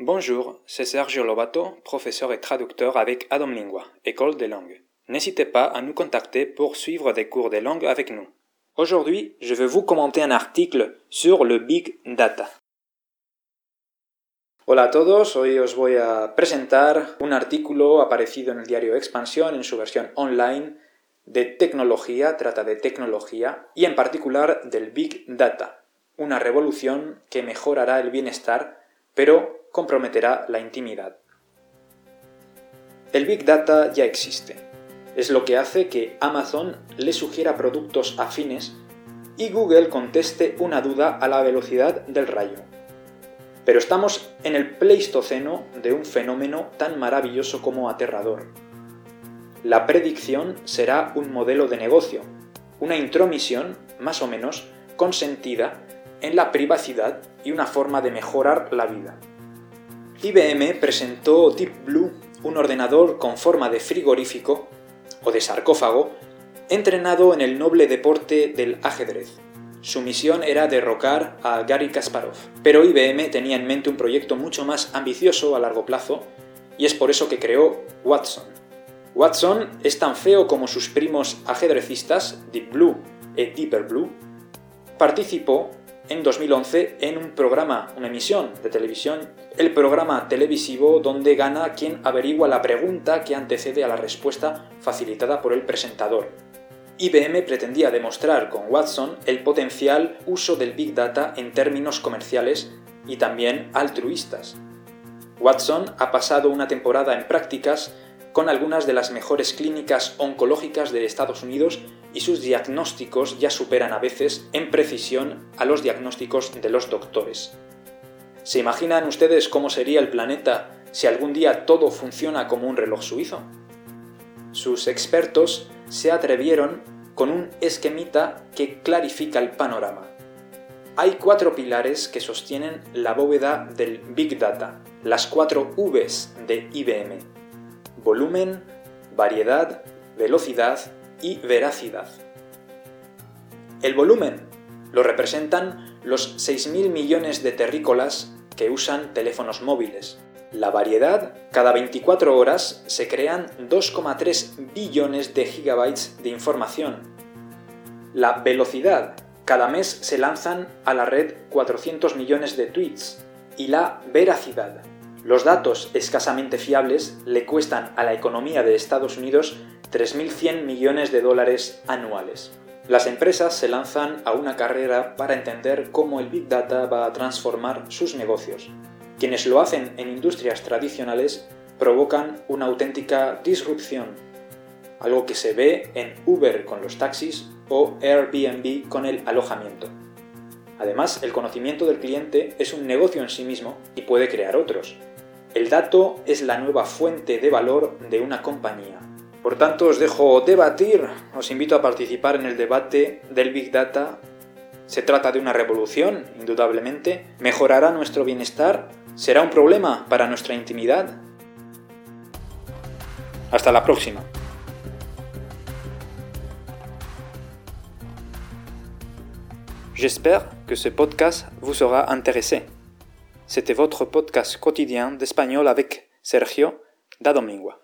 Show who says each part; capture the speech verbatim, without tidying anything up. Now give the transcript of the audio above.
Speaker 1: Bonjour, c'est Sergio Lobato, professeur et traducteur avec Adam Lingua, école de langue. N'hésitez pas à nous contacter pour suivre des cours de langue avec nous. Aujourd'hui, je vais vous commenter un article sur le Big Data. Hola a todos, hoy os voy a presentar un artículo aparecido en el diario Expansión en su versión online de tecnología, trata de tecnología y en particular del Big Data, una revolución que mejorará el bienestar, pero comprometerá la intimidad. El Big Data ya existe. Es lo que hace que Amazon le sugiera productos afines y Google conteste una duda a la velocidad del rayo. Pero estamos en el Pleistoceno de un fenómeno tan maravilloso como aterrador. La predicción será un modelo de negocio, una intromisión, más o menos, consentida en la privacidad y una forma de mejorar la vida. I B M presentó Deep Blue, un ordenador con forma de frigorífico o de sarcófago, entrenado en el noble deporte del ajedrez. Su misión era derrocar a Garry Kasparov, pero I B M tenía en mente un proyecto mucho más ambicioso a largo plazo y es por eso que creó Watson. Watson es tan feo como sus primos ajedrecistas Deep Blue y Deeper Blue. Participó en dos mil once en un programa, una emisión de televisión, el programa televisivo donde gana quien averigua la pregunta que antecede a la respuesta facilitada por el presentador. I B M pretendía demostrar con Watson el potencial uso del Big Data en términos comerciales y también altruistas. Watson ha pasado una temporada en prácticas con algunas de las mejores clínicas oncológicas de Estados Unidos y sus diagnósticos ya superan a veces en precisión a los diagnósticos de los doctores. ¿Se imaginan ustedes cómo sería el planeta si algún día todo funciona como un reloj suizo? Sus expertos se atrevieron con un esquemita que clarifica el panorama. Hay cuatro pilares que sostienen la bóveda del Big Data, las cuatro V's de I B M: volumen, variedad, velocidad y veracidad. El volumen lo representan los seis mil millones de terrícolas que usan teléfonos móviles. La variedad, cada veinticuatro horas se crean dos coma tres billones de gigabytes de información. La velocidad, cada mes se lanzan a la red cuatrocientos millones de tweets. Y la veracidad, los datos escasamente fiables le cuestan a la economía de Estados Unidos tres mil cien millones de dólares anuales. Las empresas se lanzan a una carrera para entender cómo el Big Data va a transformar sus negocios. Quienes lo hacen en industrias tradicionales provocan una auténtica disrupción, algo que se ve en Uber con los taxis o Airbnb con el alojamiento. Además, el conocimiento del cliente es un negocio en sí mismo y puede crear otros. El dato es la nueva fuente de valor de una compañía. Por tanto, os dejo debatir, os invito a participar en el debate del Big Data. Se trata de una revolución, indudablemente. ¿Mejorará nuestro bienestar? ¿Será un problema para nuestra intimidad? Hasta la próxima. J'espère que ce podcast vous aura intéressé. C'était votre podcast quotidien d'espagnol avec Sergio d'Adam Lingua.